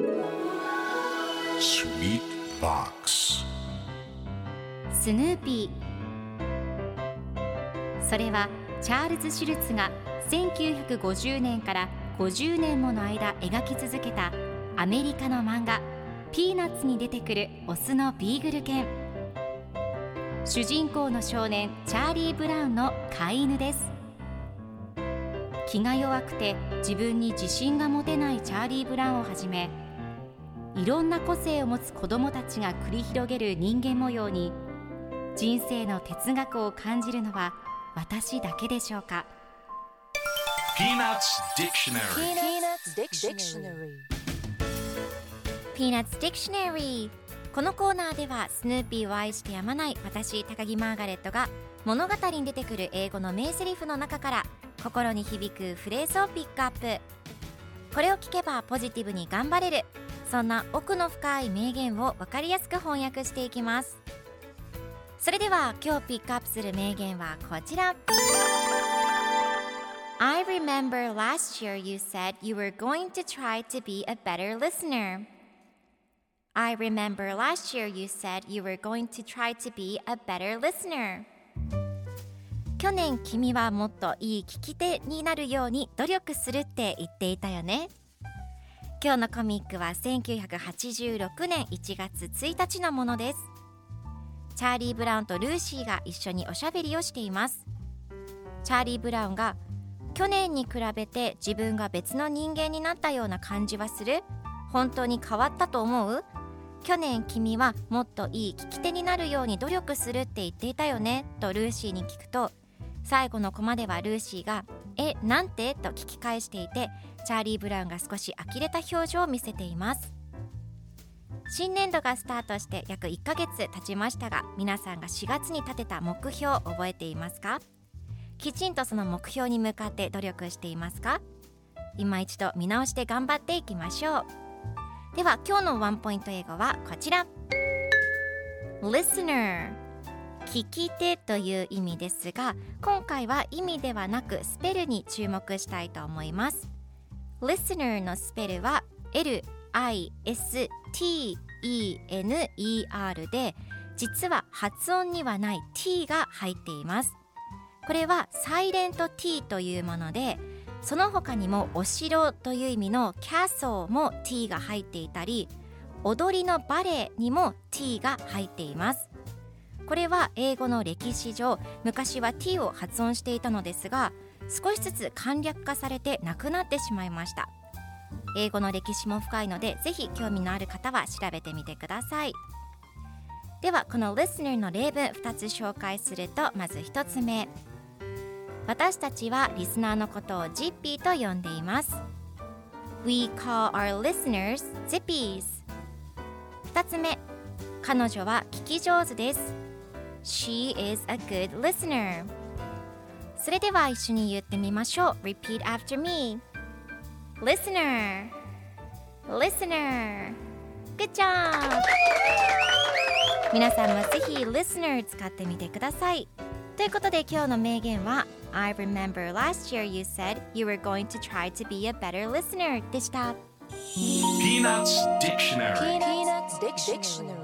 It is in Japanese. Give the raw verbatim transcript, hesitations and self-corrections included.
Sweet Box スヌーピー。それはチャールズ・シュルツがせんきゅうひゃくごじゅうねんからごじゅうねんもの間描き続けたアメリカの漫画ピーナッツに出てくるオスのビーグル犬。主人公の少年チャーリー・ブラウンの飼い犬です。気が弱くて自分に自信が持てないチャーリー・ブラウンをはじめ、いろんな個性を持つ子どもたちが繰り広げる人間模様に人生の哲学を感じるのは私だけでしょうか。 Peanuts Dictionary Peanuts Dictionary。 このコーナーではスヌーピーを愛してやまない私高木マーガレットが物語に出てくる英語の名台詞の中から心に響くフレーズをピックアップ。これを聞けばポジティブに頑張れる、そんな奥の深い名言を分かりやすく翻訳していきます。それでは今日ピックアップする名言はこちら。 I remember last year you said you were going to try to be a better listener. I remember last year you said you were going to try to be a better listener. 去年君はもっといい聞き手になるように努力するって言っていたよね。今日のコミックはせんきゅうひゃくはちじゅうろくねんいちがつついたちのものです。チャーリー・ブラウンとルーシーが一緒におしゃべりをしています。チャーリー・ブラウンが去年に比べて自分が別の人間になったような感じはする？本当に変わったと思う？去年君はもっといい聞き手になるように努力するって言っていたよねとルーシーに聞くと、最後のコマではルーシーがえ、なんてと聞き返していて、チャーリー・ブラウンが少し呆れた表情を見せています。新年度がスタートして約いっかげつ経ちましたが、皆さんがしがつに立てた目標を覚えていますか？きちんとその目標に向かって努力していますか？今一度見直して頑張っていきましょう。では今日のワンポイント英語はこちら。 Listener、 聞き手という意味ですが、今回は意味ではなくスペルに注目したいと思います。 Listener のスペルは エルアイエスティーイーエヌイーアール で、実は発音にはない T が入っています。これはサイレント T というもので、その他にもお城という意味の Castle も T が入っていたり、踊りのバレエにも T が入っています。これは英語の歴史上、昔は T を発音していたのですが、少しずつ簡略化されてなくなってしまいました。英語の歴史も深いので、ぜひ興味のある方は調べてみてください。ではこの Listener の例文ふたつ紹介すると、まずひとつめ、私たちはリスナーのことをジッピーと呼んでいます。 We call our listeners Zippies。 ふたつめ、彼女は聞き上手です。 She is a good listener。 それでは一緒に言ってみましょう。 Repeat after me。 Listener Listener Good job。 皆さんもぜひ Listener 使ってみてください。ということで今日の名言は I remember last year you said you were going to try to be a better listener でした。 Peanuts Dictionary Peanuts Dictionary